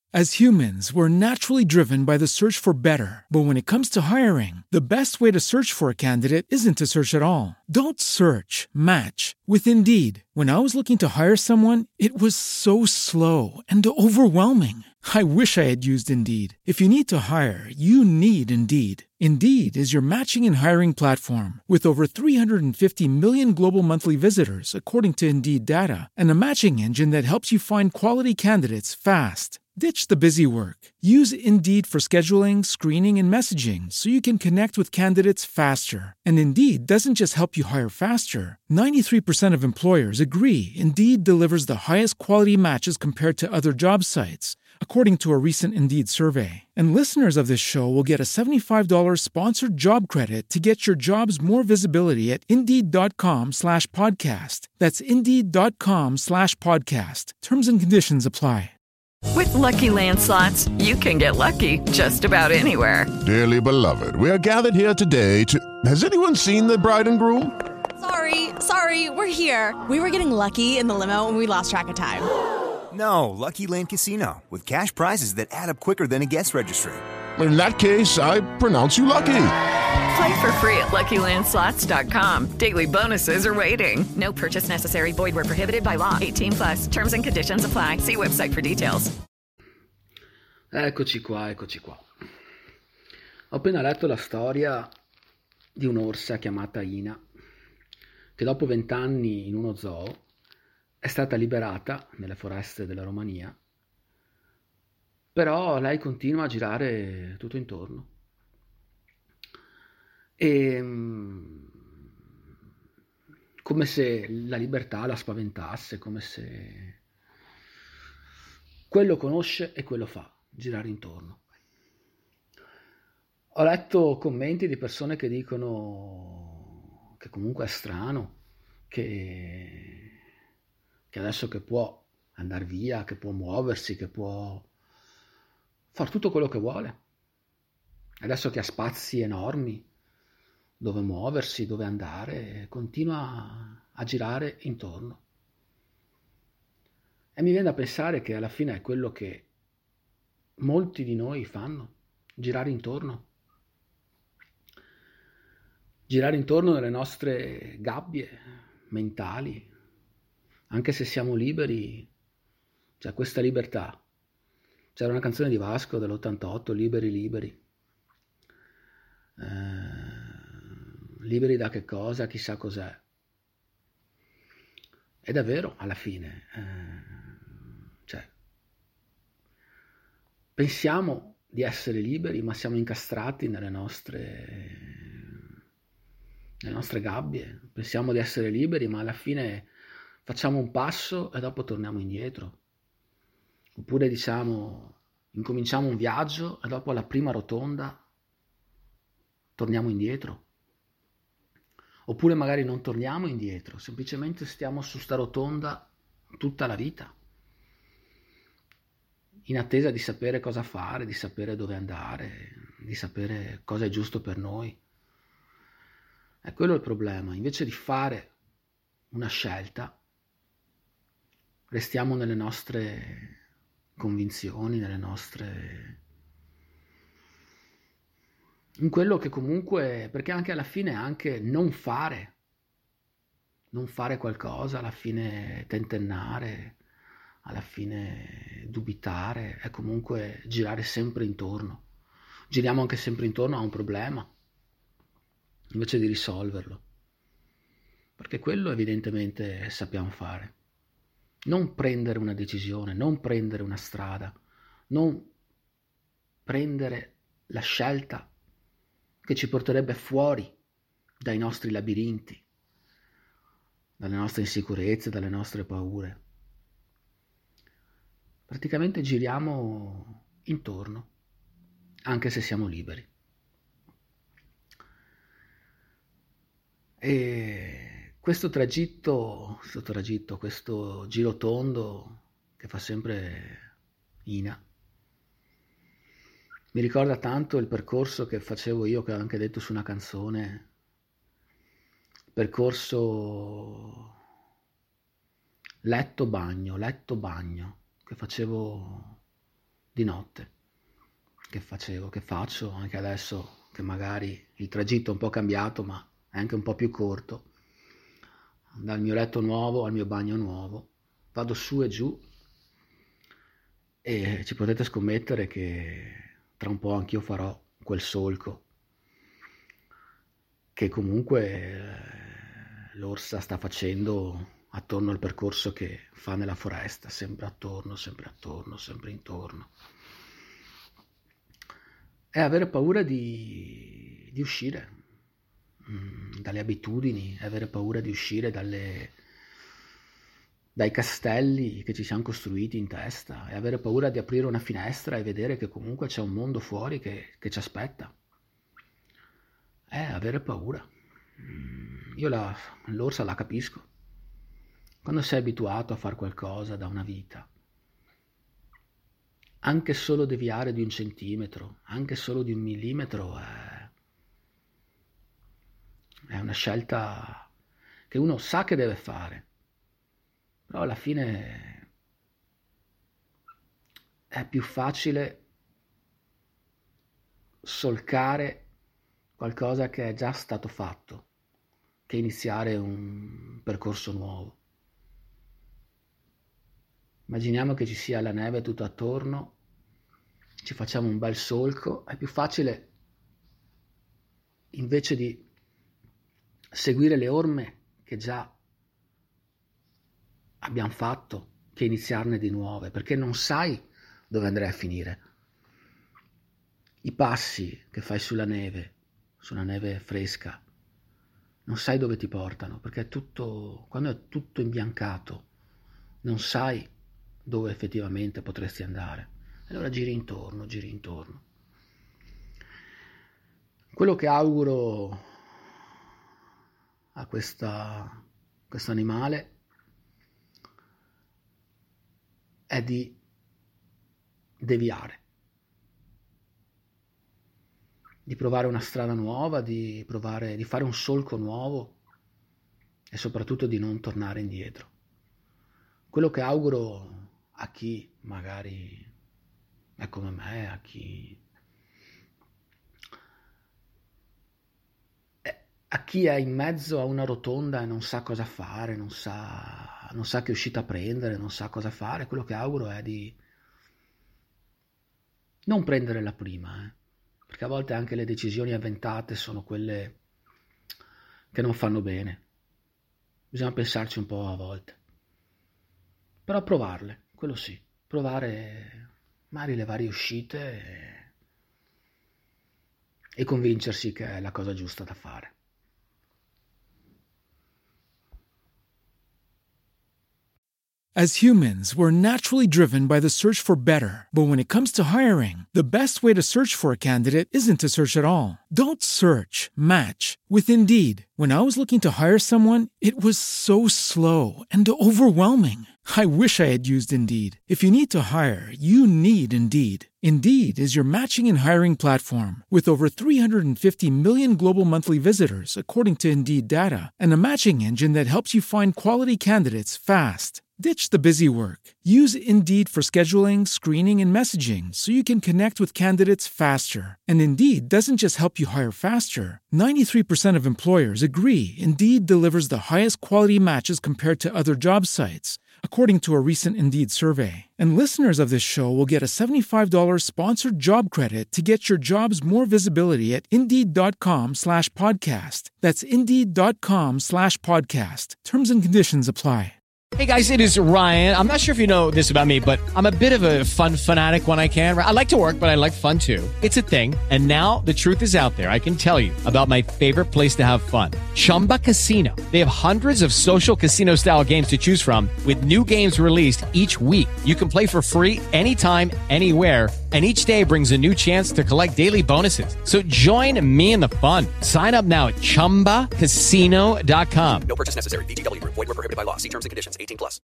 As humans, we're naturally driven by the search for better. But when it comes to hiring, the best way to search for a candidate isn't to search at all. Don't search, match with Indeed. When I was looking to hire someone, it was so slow and overwhelming. I wish I had used Indeed. If you need to hire, you need Indeed. Indeed is your matching and hiring platform with over 350 million global monthly visitors, according to Indeed data, and a matching engine that helps you find quality candidates fast. Ditch the busy work. Use Indeed for scheduling, screening, and messaging so you can connect with candidates faster. And Indeed doesn't just help you hire faster. 93% of employers agree Indeed delivers the highest quality matches compared to other job sites, according to a recent Indeed survey. And listeners of this show will get a $75 sponsored job credit to get your jobs more visibility at Indeed.com/podcast. That's Indeed.com/podcast. Terms and conditions apply. With Lucky Land Slots, you can get lucky just about anywhere. Dearly beloved, we are gathered here today to... Has anyone seen the bride and groom? Sorry, we're here. We were getting lucky in the limo and we lost track of time. No, Lucky Land Casino, with cash prizes that add up quicker than a guest registry. In that case, I pronounce you lucky. Play for free at LuckyLandSlots.com. Daily bonuses are waiting. No purchase necessary. Void where prohibited by law. 18+. Terms and conditions apply. See website for details. Eccoci qua. Ho appena letto la storia di un'orsa chiamata Ina, che dopo 20 anni in uno zoo è stata liberata nelle foreste della Romania, però lei continua a girare tutto intorno. E come se la libertà la spaventasse, come se quello conosce e quello fa, girare intorno. Ho letto commenti di persone che dicono che comunque è strano, che adesso che può andare via, che può muoversi, che può fare tutto quello che vuole, adesso che ha spazi enormi dove muoversi, dove andare, continua a girare intorno. E mi viene da pensare che alla fine è quello che molti di noi fanno, girare intorno nelle nostre gabbie mentali, anche se siamo liberi, c'è questa libertà. C'era una canzone di Vasco dell'88, Liberi, liberi da che cosa, chissà cos'è. È davvero, alla fine, pensiamo di essere liberi, ma siamo incastrati nelle nostre gabbie. Pensiamo di essere liberi, ma alla fine facciamo un passo e dopo torniamo indietro. Oppure incominciamo un viaggio e dopo alla prima rotonda torniamo indietro. Oppure magari non torniamo indietro, semplicemente stiamo su sta rotonda tutta la vita, in attesa di sapere cosa fare, di sapere dove andare, di sapere cosa è giusto per noi. E quello è il problema. Invece di fare una scelta, restiamo nelle nostre convinzioni, in quello che comunque, perché anche alla fine anche non fare qualcosa, alla fine tentennare, alla fine dubitare, è comunque girare sempre intorno. Giriamo anche sempre intorno a un problema, invece di risolverlo, perché quello evidentemente sappiamo fare. Non prendere una decisione, non prendere una strada, non prendere la scelta che ci porterebbe fuori dai nostri labirinti, dalle nostre insicurezze, dalle nostre paure. Praticamente giriamo intorno, anche se siamo liberi. E questo girotondo che fa sempre Ina, mi ricorda tanto il percorso che facevo io, che ho anche detto su una canzone, percorso letto bagno, che facevo di notte che faccio anche adesso, che magari il tragitto è un po' cambiato, ma è anche un po' più corto, dal mio letto nuovo al mio bagno nuovo, vado su e giù e ci potete scommettere che tra un po' anch'io farò quel solco che comunque l'orsa sta facendo attorno al percorso che fa nella foresta, sempre attorno, sempre intorno. È avere paura di uscire dalle abitudini, è avere paura di uscire dai castelli che ci siamo costruiti in testa, è avere paura di aprire una finestra e vedere che comunque c'è un mondo fuori che ci aspetta. È avere paura. Io l'orsa la capisco. Quando sei abituato a fare qualcosa da una vita, anche solo deviare di 1 centimetro, anche solo di 1 millimetro è una scelta che uno sa che deve fare, però alla fine è più facile solcare qualcosa che è già stato fatto che iniziare un percorso nuovo. Immaginiamo che ci sia la neve tutto attorno, ci facciamo un bel solco, è più facile, invece di seguire le orme che già abbiamo fatto, che iniziarne di nuove, perché non sai dove andrai a finire. I passi che fai sulla neve fresca, non sai dove ti portano, perché quando è tutto imbiancato, non sai dove effettivamente potresti andare. Allora giri intorno. Quello che auguro a questo animale è di deviare, di provare una strada nuova, di fare un solco nuovo e soprattutto di non tornare indietro. Quello che auguro a chi magari è come me, a chi è in mezzo a una rotonda e non sa cosa fare, non sa che uscita prendere, non sa cosa fare, quello che auguro è di non prendere la prima, perché a volte anche le decisioni avventate sono quelle che non fanno bene. Bisogna pensarci un po' a volte. Però provarle, quello sì, provare magari le varie uscite e convincersi che è la cosa giusta da fare. As humans, we're naturally driven by the search for better. But when it comes to hiring, the best way to search for a candidate isn't to search at all. Don't search, match with Indeed. When I was looking to hire someone, it was so slow and overwhelming. I wish I had used Indeed. If you need to hire, you need Indeed. Indeed is your matching and hiring platform with over 350 million global monthly visitors, according to Indeed data, and a matching engine that helps you find quality candidates fast. Ditch the busy work. Use Indeed for scheduling, screening, and messaging so you can connect with candidates faster. And Indeed doesn't just help you hire faster. 93% of employers agree Indeed delivers the highest quality matches compared to other job sites, according to a recent Indeed survey. And listeners of this show will get a $75 sponsored job credit to get your jobs more visibility at Indeed.com/podcast. That's Indeed.com/podcast. Terms and conditions apply. Hey guys, it is Ryan. I'm not sure if you know this about me, but I'm a bit of a fun fanatic when I can. I like to work, but I like fun too. It's a thing. And now the truth is out there. I can tell you about my favorite place to have fun. Chumba Casino. They have hundreds of social casino style games to choose from with new games released each week. You can play for free anytime, anywhere. And each day brings a new chance to collect daily bonuses. So join me in the fun. Sign up now at ChumbaCasino.com. No purchase necessary. VGW Group. Void where prohibited by law. See terms and conditions. 18+.